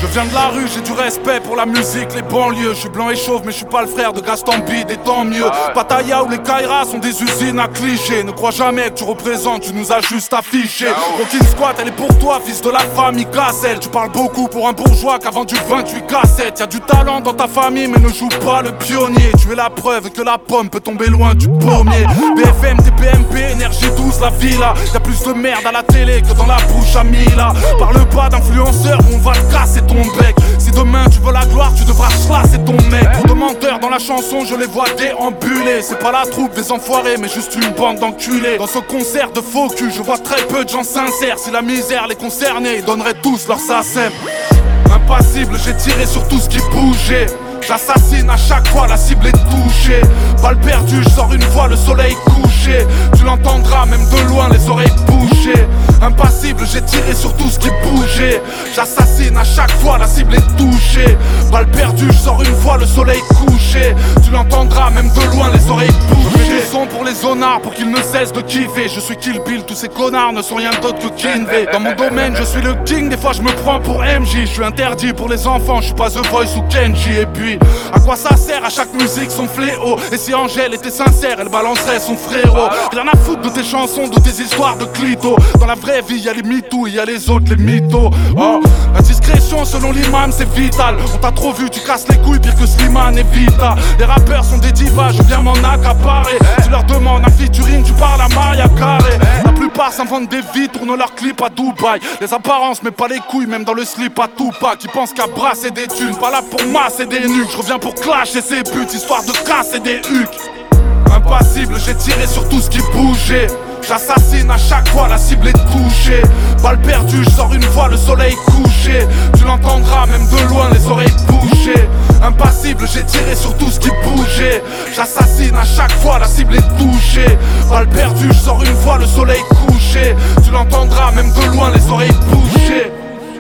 S21: viens de la rue, j'ai du respect pour la musique, les banlieues. Je suis blanc et chauve, mais je suis pas le frère de Gaston Bide, et tant mieux. Pattaya ou les Kairas sont des usines à clichés. Ne crois jamais que tu représentes, tu nous as juste affiché. Rockin' Squat, elle est pour toi, fils de la famille Cassel. Tu parles beaucoup pour un bourgeois qui a vendu 28 cassettes. Y'a du talent dans ta famille, mais ne joue pas le pionnier. Tu es la preuve que la pomme peut tomber loin du pommier. BFM, TPMP, énergie douce, la villa. Y'a plus de merde à la télé que dans la bouche à Mila. Parle pas d'influenceur, on va te casser ton bec. Si demain tu veux la gloire, tu devras chlasser ton mec. Trop de menteurs dans la chanson, je les vois déambuler. C'est pas la troupe des enfoirés, mais juste une bande d'enculés. Dans ce concert de faux cul, je vois très peu de gens sincères. Si la misère les concernait, ils donneraient tous leur SACEM. Impassible, j'ai tiré sur tout ce qui bougeait. J'assassine à chaque fois, la cible est touchée. Balle perdue, je sors une fois, le soleil couché. Tu l'entendras même de loin, les oreilles bouchées. Impassible, j'ai tiré sur tout ce qui bougeait. J'assassine à chaque fois, la cible est touchée. Balle perdue, je sors une fois, le soleil couché. Tu l'entendras même de loin, les oreilles bouchées. Je fais des sons pour les zonards, pour qu'ils ne cessent de kiffer. Je suis Kill Bill, tous ces connards ne sont rien d'autre que Kinvey. Dans mon domaine, je suis le king, des fois je me prends pour MJ. Je suis interdit pour les enfants, je suis pas The Voice ou Kenji. Et puis, à quoi ça sert à chaque musique son fléau? Et si Angèle était sincère, elle balancerait son frérot. Rien à foutre de tes chansons, de tes histoires de clito. Dans la vraie vie, y'a les mythos et y'a les autres, les mythos. Oh, la discrétion selon l'imam c'est vital. On t'a trop vu, tu casses les couilles pire que Slimane et Vita. Les rappeurs sont des divas, je viens m'en accaparer. Tu leur demandes un featuring, tu parles à Maria Carré. La plupart s'inventent des vies, tournent leurs clips à Dubaï. Les apparences mais pas les couilles, même dans le slip à Tupac. Qui pensent qu'à brasser des thunes, pas là pour masser des nuques. Je reviens pour clasher ses buts, histoire de casser des hucs. Impassible, j'ai tiré sur tout ce qui bougeait. J'assassine à chaque fois, la cible est touchée. Balle perdue, je sors une fois, le soleil couché. Tu l'entendras même de loin, les oreilles bouchées. Impassible, j'ai tiré sur tout ce qui bougeait. J'assassine à chaque fois, la cible est touchée. Balle perdue, je sors une fois, le soleil couché. Tu l'entendras même de loin, les oreilles bouchées.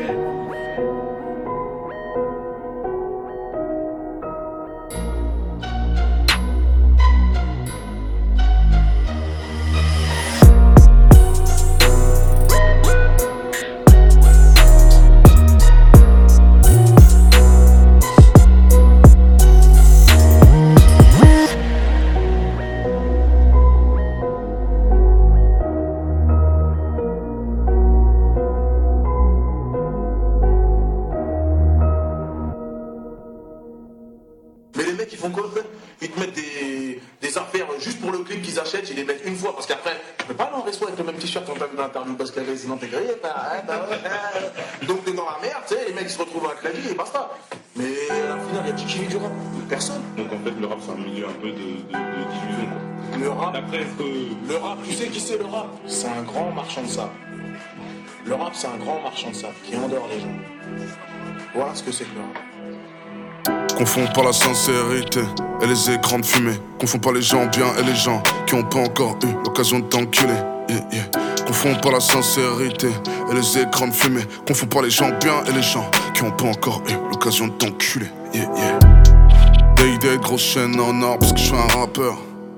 S16: Parce que sinon t'es grillé, donc t'es dans la merde, tu sais, les mecs ils se retrouvent à clavier et basta. Mais à la finale, y'a qui vit du rap? Personne.
S22: Donc en fait, le rap c'est un milieu un peu de diffusion quoi.
S16: Le rap, le rap, tu sais qui c'est le rap? C'est un grand marchand de sable. Le rap c'est un grand marchand de sable qui endort les gens. Voilà ce que c'est que le rap.
S2: Confonds pas la sincérité et les écrans de fumée. Confonds pas les gens bien et les gens qui ont pas encore eu l'occasion de t'enculer. Yeah, yeah. Confonds pas la sincérité et les écrans de fumée. Confonds pas les gens bien et les gens qui ont pas encore eu l'occasion de t'enculer. Yeah, yeah. Day, grosse chaîne en or parce que je suis un rappeur.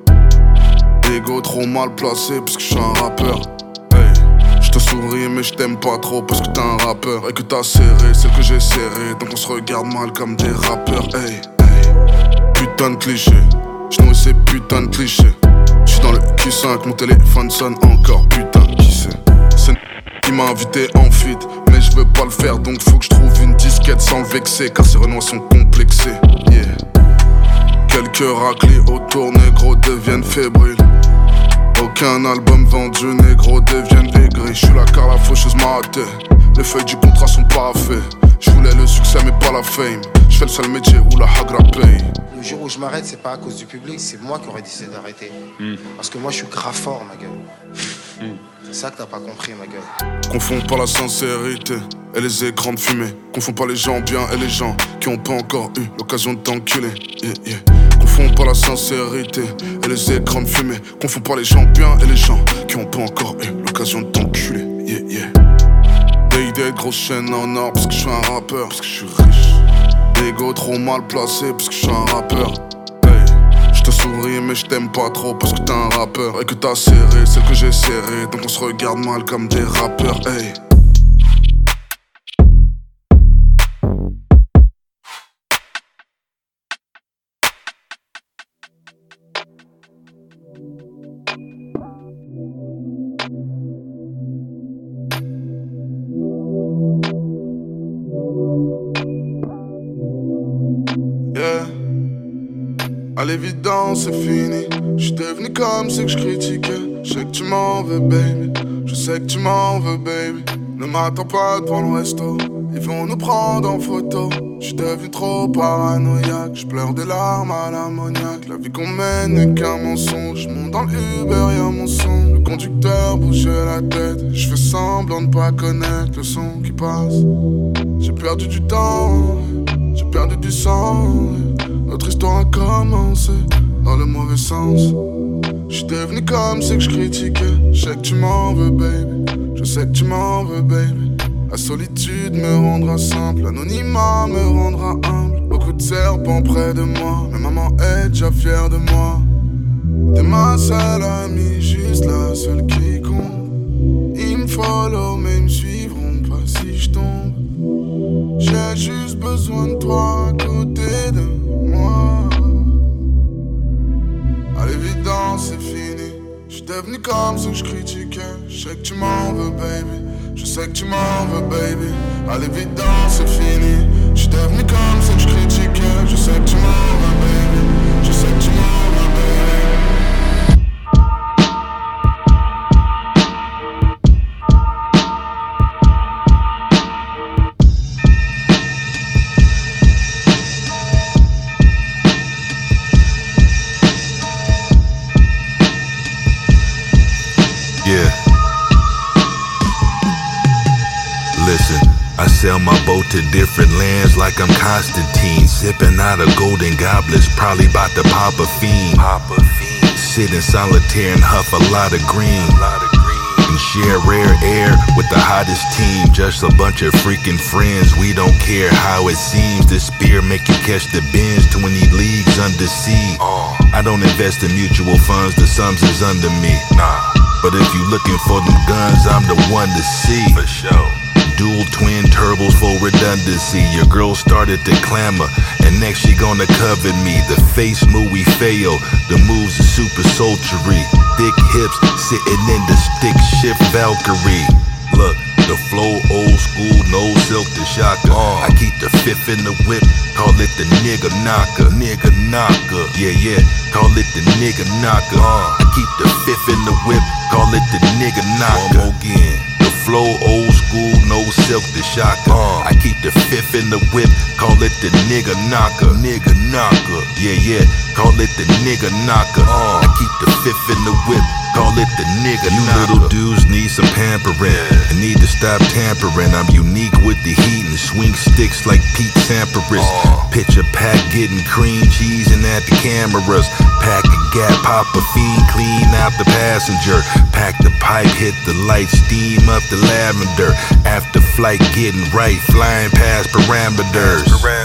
S2: Ego trop mal placé parce que je suis un rappeur. Hey, je te souris mais je t'aime pas trop parce que t'es un rappeur. Et que t'as serré celle que j'ai serré. Donc on se regarde mal comme des rappeurs. Hey, hey. Putain de cliché, je nourris ces putains de clichés. J'suis dans le Q5, mon téléphone sonne encore, putain, qui c'est? C'est qui m'a invité en feat, mais je veux pas le faire, donc faut que je trouve une disquette sans le vexer, car ces renois sont complexés, yeah. Quelques raclis autour, négro deviennent fébriles. Aucun album vendu, négro deviennent aigris. J'suis la car la faucheuse m'a raté, les feuilles du contrat sont paraffées. J'voulais le succès mais pas la fame. J'fais le seul métier où la hagra paye.
S23: Le jour où je m'arrête, c'est pas à cause du public, c'est moi qui aurais décidé d'arrêter. Parce que moi je suis grave fort, ma gueule. C'est ça que t'as pas compris, ma gueule.
S2: Confonds pas la sincérité et les écrans de fumée. Confonds pas les gens bien et les gens qui ont pas encore eu l'occasion de t'enculer. Yeah, yeah. Confonds pas la sincérité et les écrans de fumée. Confonds pas les gens bien et les gens qui ont pas encore eu l'occasion de t'enculer. Yeah, yeah. Day, grosse chaîne en or parce que je suis un rappeur, parce que je suis riche. Ego trop mal placé parce que je suis un rappeur. Hey, je te souris mais je t'aime pas trop parce que t'es un rappeur. Et que t'as serré celle que j'ai serré, donc on se regarde mal comme des rappeurs. Hey. l'évidence c'est fini. J'suis devenu comme ceux que je critiquais. Je sais que tu m'en veux baby, je sais que tu m'en veux baby. Ne m'attends pas devant le resto, ils vont nous prendre en photo. J'suis devenu trop paranoïaque, j'pleure des larmes à l'ammoniaque. La vie qu'on mène n'est qu'un mensonge, j'monte dans l'Uber y'a mon son. Le conducteur bouge la tête, j'fais semblant de pas connaître le son qui passe. J'ai perdu du temps, j'ai perdu du sang. Notre histoire a commencé dans le mauvais sens. J'suis devenu comme ceux que je critiquais. Je sais que tu m'en veux baby, je sais que tu m'en veux baby. La solitude me rendra simple, l'anonymat me rendra humble. Beaucoup de serpents près de moi, mais maman est déjà fière de moi. T'es ma seule amie, juste la seule qui compte. Ils me follow mais ils me suivront pas si je tombe. J'ai juste besoin de toi à côté de moi. À l'évidence c'est fini, j'suis devenu comme ceux que je critiquais. Je sais que tu m'en veux baby, je sais que tu m'en veux baby. À l'évidence c'est fini, j'suis devenu comme ceux que je critiquais. Je sais que tu m'en veux baby, je sais que tu m'en veux baby.
S1: I sail my boat to different lands like I'm Constantine. Sipping out of golden goblets, probably about to pop a fiend. Sit in solitaire and huff a lot of green. And share rare air with the hottest team. Just a bunch of freaking friends, we don't care how it seems. This spear make you catch the bends 20 leagues under sea. I don't invest in mutual funds, the sums is under me. But if you looking for them guns, I'm the one to see. For sure. Dual twin turbos for redundancy. Your girl started to clamor, and next she gonna covet me. The face Mui Feo, the moves are super sultry. Thick hips sitting in the stick shift Valkyrie. Look, the flow old school, no silk to shaka. I keep the fifth in the whip, call it the nigga knocker. Nigga knocker, yeah, call it the nigga knocker. I keep the fifth in the whip, call it the nigga knocker. One more again. Flow old school, no silk to shaka. I keep the fifth in the whip, call it the nigga knocker. Nigga knocker, yeah, call it the nigga knocker. I keep the fifth in the whip, call it the nigga knocker. You little dudes need some pampering, and need to stop tampering. I'm unique with the heat and swing sticks like Pete Sampras. Picture pack getting cream cheesing at the cameras. Pack a gap, pop a fiend, clean out the passenger. Pack the pipe, hit the light, steam up the lavender. After flight getting right, flying past parameters.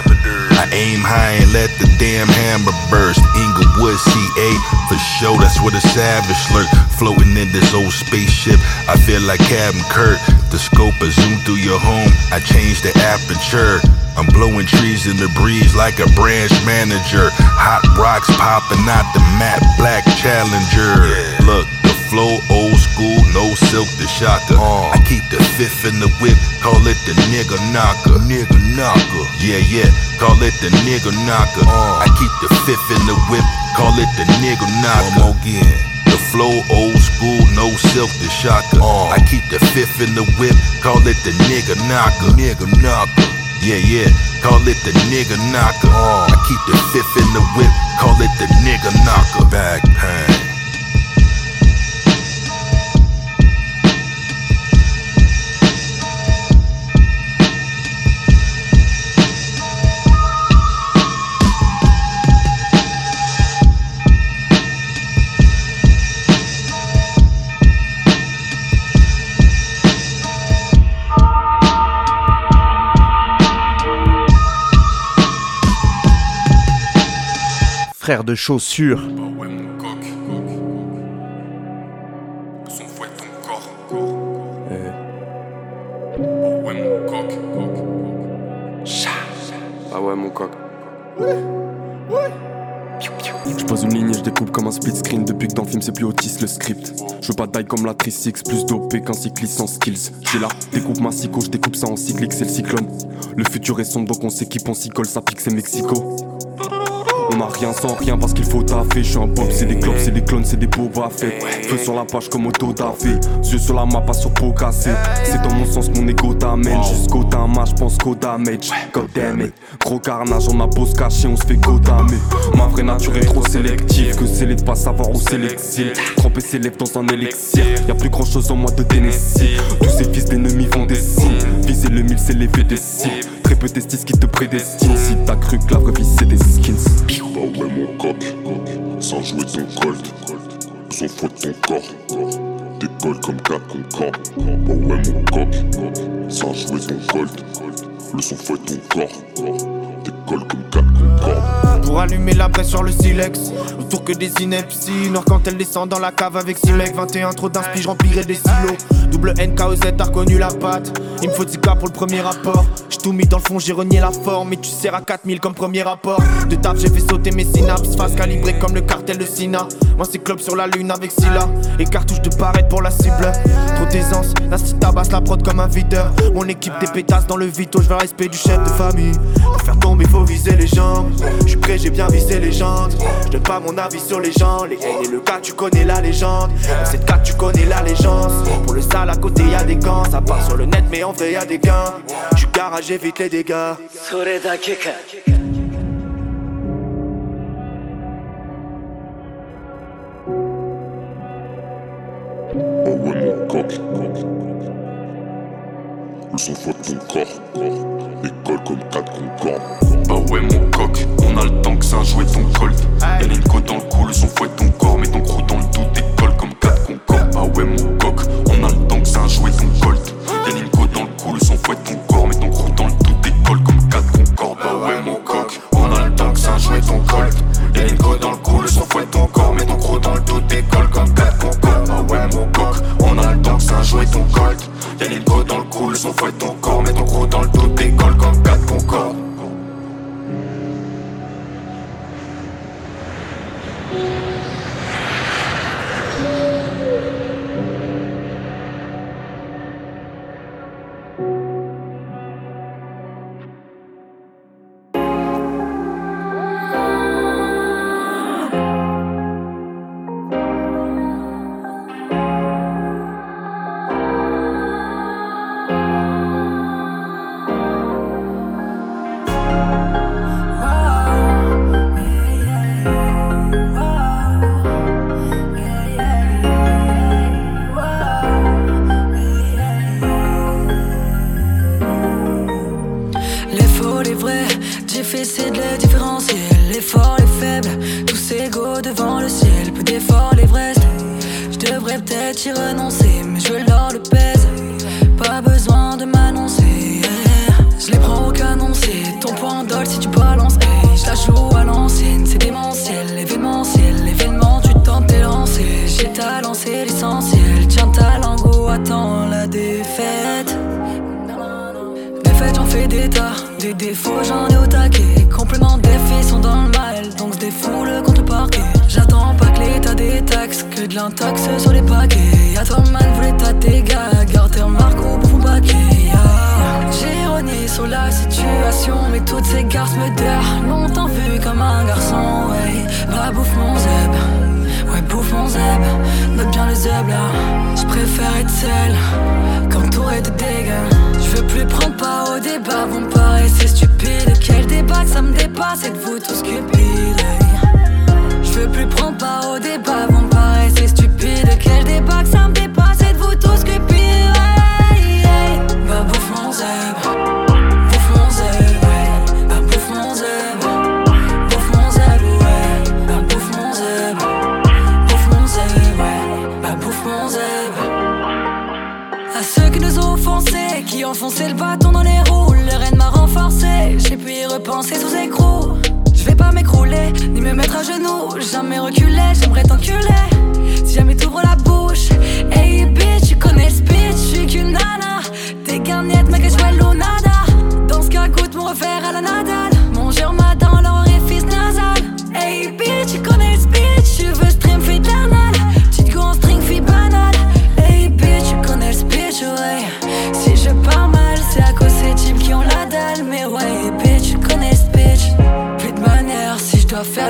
S1: I aim high and let the damn hammer burst. Inglewood, CA, for sure, that's where the savage lurk. Floating in this old spaceship, I feel like Captain Kirk. The scope a zoom through your home, I change the aperture. I'm blowing trees in the breeze like a branch manager. Hot rocks popping out the matte black Challenger. Look, the flow old school, no silk to shaka. I keep the fifth in the whip, call it the nigga knocker. Nigga knocker, yeah, call it the nigga knocker. I keep the fifth in the whip, call it the nigga knocker. One more again. The flow old school, no silk to shaka. I keep the fifth in the whip, call it the nigga knocker. Nigga knocker. Yeah, call it the nigga knocker. I keep the fifth in the whip, call it the nigga knocker. Back pain.
S3: Frère de chaussures.
S4: Ouais mon coq, son fouet ton corps. Ouais mon coq,
S6: ah ouais mon coq. Je pose une ligne et je découpe comme un split screen. Depuis que dans le film c'est plus autiste le script. Je veux pas taille comme la Tri-Six, plus dopé qu'un cycliste sans skills. J'ai là, découpe ma psycho, je découpe ça en cyclique, c'est le cyclone. Le futur est sombre donc on s'équipe, on s'y colle, ça pique c'est Mexico. On a rien sans rien parce qu'il faut taffer. Je suis un bob, c'est des clopes, c'est des clones, c'est des Boba Fett. Feu sur la page comme Auto Dafé. Yeux sur la map, pas sur peau cassée. C'est dans mon sens, mon ego t'amène. Jusqu'au damage, j'pense qu'au damage. God damn it. Gros carnage, on a beau se cacher, on se fait godamer. Ma vraie nature est trop sélective. Que c'est les de pas savoir où c'est l'exil. Tremper ses lèvres dans un élixir. Y'a plus grand chose en moi de Tennessee. Tous ces fils d'ennemis font des signes. Viser le mille, c'est lever des cibles. Très peu testis qui te prédestinent. Si t'as cru que la vraie vie c'est des skins.
S7: Bah ouais mon coq, sans jouer ton colt. Son fouet ton corps, décolle comme 4 Concorde. Bah ouais mon coq, sans jouer ton colt. Le son fouet ton corps, décolle comme 4 Concorde.
S8: Pour allumer la presse sur le silex, autour que des inepties. Noir quand elle descend dans la cave avec 6 mecs. 21 trop d'inspi, je remplirai des silos. Double NKOZ, t'as reconnu la patte. Il me faut 10K pour le premier rapport. J'ai tout mis dans le fond, j'ai renié la forme. Et tu sers à 4000 comme premier rapport. De taf, j'ai fait sauter mes synapses. Face calibrée comme le cartel de Sina. Moi c'est club sur la lune avec Scylla. Et cartouche de barrette pour la cible. Trop d'aisance, la cité tabasse la prod comme un videur. Mon équipe des pétasses dans le vito. Je veux le respect du chef de famille. Pour faire tomber, faut viser les jambes. J'suis prêt, j'ai bien visé les jantes. J'donne pas mon avis sur les gens. Les haines et le cas, tu connais la légende. Dans cette carte, tu connais l'allégeance. Pour le sale à côté, y'a des gants. Ça part sur le net, mais en vrai, y'a des gains. J'suis garage, j'évite les dégâts.
S7: Oh ouais mon coq, le son fouet ton corps, décolle comme 4 Concorde.
S6: Bah ouais mon coq, on a le temps que ça jouer ton colt. Y'a une côte dans le cou, le son fouet ton corps. Mets ton crew dans le tout, décolle comme 4 Concorde. Bah ouais mon coq, on a le temps que ça jouer ton colt. Y'a une côte dans le cou, le son fouet ton corps. Mets ton crew dans le tout, décolle comme 4 Concorde. Bah ouais mon coq, on a le temps que ça jouer ton colt. Y'a une côte dans le cou, le son fouet ton corps. Mets ton crew dans le tout, décolle comme 4 Concorde. Bah ouais mon coq, on a le temps que ça jouer ton colt. Y'a une côte dans le cou, le son fouet ton corps. Mets ton crew dans le tout, décolle comme 4 Concorde.
S17: peut-être y renoncer, mais je leur le pèse. Pas besoin de m'annoncer, yeah. Je les prends au canon, c'est ton point d'ol si tu balances, hey. Je la joue à l'ancienne, c'est démentiel, événementiel. L'événement, tu tentes tes lancers. J'ai ta lancé l'essentiel. Tiens ta langue ou attends la défaite. Défaite, j'en fais des tas. Des défauts, j'en ai au taquet. Complément des filles sont dans le mal, donc se défoule contre le parquet. J'attends pas que l'état des taxes, que de l'intaxe sur les paquets. Y'a toi man, voulait ta tes gars, garde tes remarques au bout paquet, yeah. J'ai renié sur la situation, mais toutes ces garces me derrent. Longtemps vu comme un garçon, ouais. Va bouffe mon zeb, ouais bouffe mon zeb. Note bien le zeb là, j'préfère être seul qu'entouré de dégâts. Je veux plus prendre part au débat, vous me paraissez stupide. Quel débat que ça me dépasse, êtes-vous tous cupides? Je veux plus prendre part au débat, vous me paraissez stupide. Quel débat que ça me dépasse, êtes-vous tous cupides? Bah bouffe mon zeb, bouffe mon zeb, ouais. Bah bouffe mon zeb, bouffe mon zeb, ouais. Bah bouffe mon zeb, bouffe mon zeb, ouais. Bah bouffe mon zeb. À ceux qui nous ont offensés, qui ont foncé le bâton dans les roues, le reine m'a renforcé, j'ai pu y repenser sous écrou. Je vais pas m'écrouler, ni me mettre à genoux, jamais reculer, j'aimerais t'enculer. Si jamais t'ouvres la bouche, hey bitch, tu connais le speech, j'suis qu'une nana. T'es garniette, mec, j'vois nada. Dans ce cas, goûte mon refaire à la Nadal. Mon germa dans l'orifice nasal. Hey bitch, tu connais le speech, tu veux stream fiternal. Petite go en string fille banale. Hey bitch, tu connais le speech, ouais. Si je pars mal, c'est à cause ces types qui ont la dalle. Mais ouais, bitch, tu connais le speech. Plus de manière, si je dois faire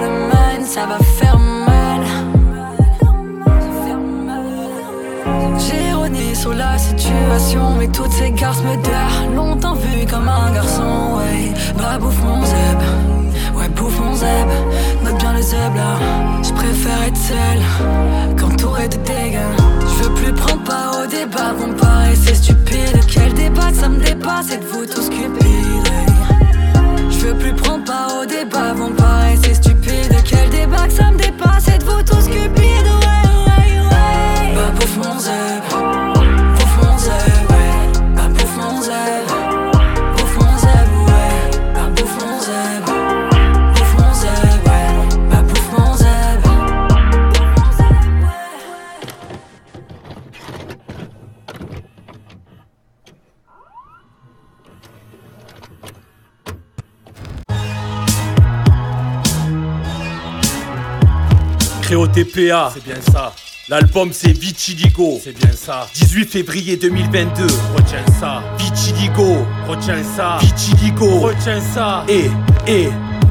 S9: la situation, mais toutes ces garces me derrent. Longtemps vu comme un garçon, ouais. Bah bouffe mon zeb, ouais bouffe mon zeb. Note bien le zeb là, j'préfère être seul qu'entouré de dégâts. J'veux plus prendre part au débat, vous me paraissez stupide. Quel débat, ça me dépasse, êtes-vous tous cupides? J'veux plus prendre part au débat, vous me paraissez stupide. Quel débat, ça me dépasse, êtes-vous tous cupides? Bah bouffe mon zeb, bouffe mon zeb, ouais. Bah bouffe mon zeb, bouffe mon zeb, ouais. Bah bouffe mon zeb, bouffe mon zeb, ouais. Bah bouffe mon zeb.
S10: Créo TPA, c'est bien ça. L'album c'est Vitiligo, c'est bien ça. 18 février 2022, retiens ça. Vitiligo, retiens ça. Vitiligo, retiens ça. Ouais.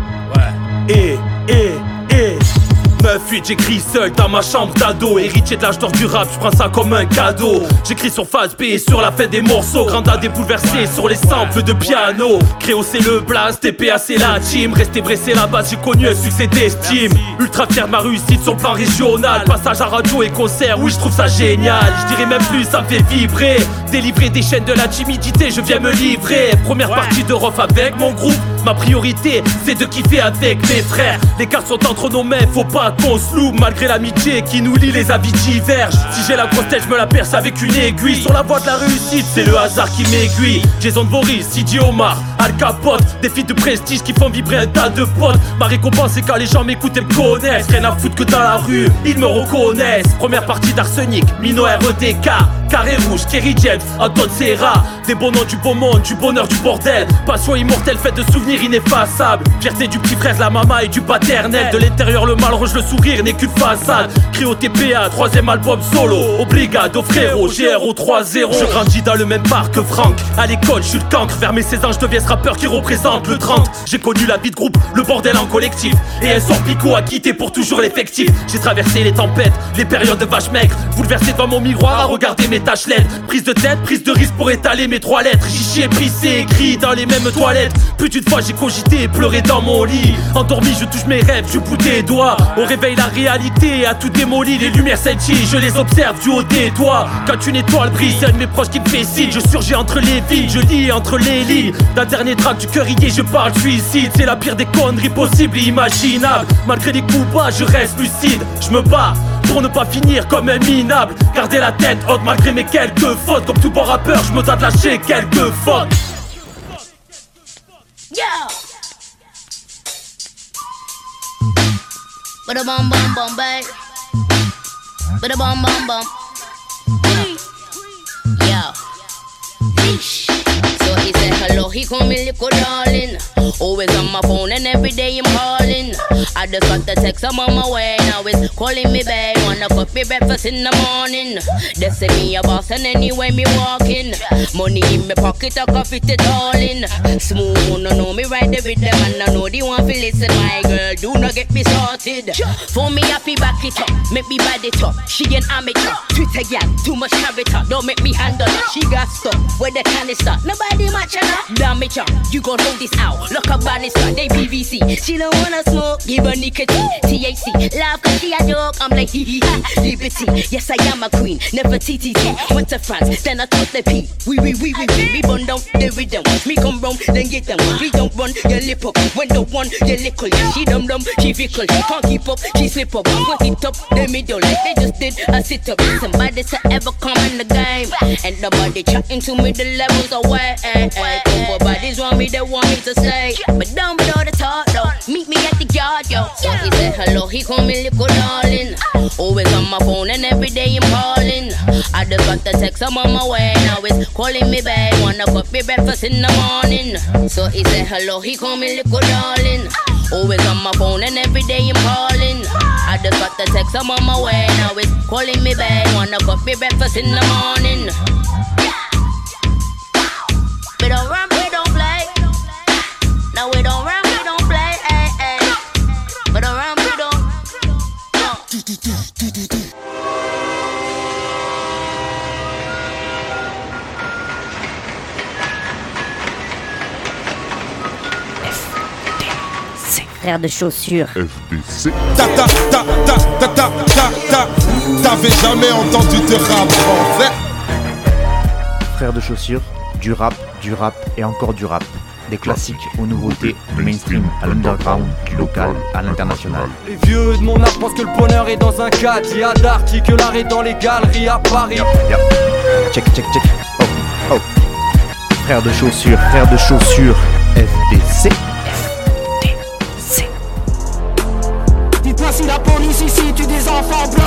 S10: 9-8, j'écris seul dans ma chambre d'ado. Héritier de l'âge d'or du rap, j'prends ça comme un cadeau. J'écris sur phase B et sur la fin des morceaux. Granda débouleversé sur les samples de piano. Créo c'est le blast, TPA c'est la team. Resté vrai c'est la base, j'ai connu un succès d'estime. Ultra fier de ma réussite sur le plan régional. Passage à radio et concert, oui je trouve ça génial. Je dirais même plus, ça me fait vibrer. Délivrer des chaînes de la timidité, je viens me livrer. Première partie de Rof avec mon groupe. Ma priorité c'est de kiffer avec mes frères. Les cartes sont entre nos mains, faut pas qu'on se loupe. Malgré l'amitié qui nous lie, les avis divergent. Si j'ai la grosse tête, je me la perce avec une aiguille. Sur la voie de la réussite, c'est le hasard qui m'aiguille. Jason Voorhees, Sidi Omar, Al Capote. Des filles de prestige qui font vibrer un tas de potes. Ma récompense c'est quand les gens m'écoutent et me connaissent. Rien à foutre que dans la rue, ils me reconnaissent. Première partie d'Arsenic, Mino REDK, Carré Rouge, Kerry James, Anton Serra. Des bons noms du beau monde, du bonheur du bordel. Passion immortelle, faite de souvenirs ineffaçables. Fierté du petit frère, la maman et du paternel. De l'intérieur le mal rouge, le sourire n'est qu'une façade. Créo TPA, 3ème album solo. Obrigado frérot, GRO 3-0. Je grandis dans le même parc que Franck. À l'école, je suis le cancre. Vers mes 16 ans, je deviens ce rappeur qui représente le 30. J'ai connu la vie de groupe, le bordel en collectif. Et un sort picot à quitter pour toujours l'effectif. J'ai traversé les tempêtes, les périodes de vache maigre. Bouleversé devant mon miroir à regarder mes tachelettes. Prise de tête, prise de risque pour étaler mes 3 lettres. Chichi et prissé, écrit dans les mêmes toilettes. Plus d'une fois j'ai cogité et pleuré dans mon lit. Endormi, je touche mes rêves, je bout des doigts. Au réveil, la réalité a tout démoli. Les lumières scintillent, je les observe du haut des toits. Quand une étoile brille, c'est un de mes proches qui me fait signe. Je surgis entre les villes, je lis entre les lits. D'un dernier track du cœur lié, je parle suicide. C'est la pire des conneries possibles et imaginables. Malgré les coups bas, je reste lucide. Je me bats pour ne pas finir comme un minable. Garder la tête haute malgré mes quelques fautes. Comme tout bon rappeur, je me dois de lâcher quelques fautes.
S11: Yeah. Bada bum bum bum babe. Bada bum bum bum. Yo. Yeesh. So he said hello, he call me little darling. Always on my phone and every day I'm calling. I just got the text, I'm on my way. Now it's calling me babe. Wanna cook me breakfast in the morning. They say me a boss and anyway me walking. Money in my pocket, I can fit it all in. Smooth, no know me right there with them. And I know they want to listen. My girl, do not get me started. For me, I feel back it up. Make me bad it up. She an amateur. Twitter gal, too much character. Don't make me handle her. She got stuck where the canister. Nobody match her. Damage her. You gon' hold this out. Look up banister. They PVC. She don't wanna smoke. Give her nicotine. THC. Laugh cause she a joke. I'm like hee hee ha. Liberty. Yes, I am a queen. Never TTT. Went to France. Then I took the P. We burn down the rhythm. Me come round. Then get them. We don't run. Your lip up. When the one. Your lickle. She dumb. She fickle. She can't keep up. She slip up. Put it up. The middle. Like they just did. I sit up. Somebody to ever come in the game. And nobody chatting to me. The levels away. Couple bodies want me. They want me to stay. But down below the talk though. Meet me at the yard, yo. So he said hello, he call me little darling. Always on my phone and every day I'm calling. I just got the text, I'm on my way. Now it's calling me babe. Wanna cook me breakfast in the morning. So he said hello, he call me little darling. Always on my phone and every day I'm calling. I just got the text, I'm on my way. Now it's calling me babe. Wanna cook me breakfast in the morning. We don't run, we don't play. No, we don't run, we don't play. Ay, ay. We don't run, we don't. No. frère de chaussures.
S12: FDC. T'avais jamais entendu de rap français?
S3: Frère de chaussures, du rap et encore du rap. Des classiques aux nouveautés, du mainstream à l'underground, du local à l'international.
S13: Les vieux de mon âge pensent que le bonheur est dans un caddie à Darty, que l'art est dans les galeries à Paris.
S3: Check. Oh. Frère de chaussures, FDC.
S15: Dites-moi si la police ici tue des enfants blancs.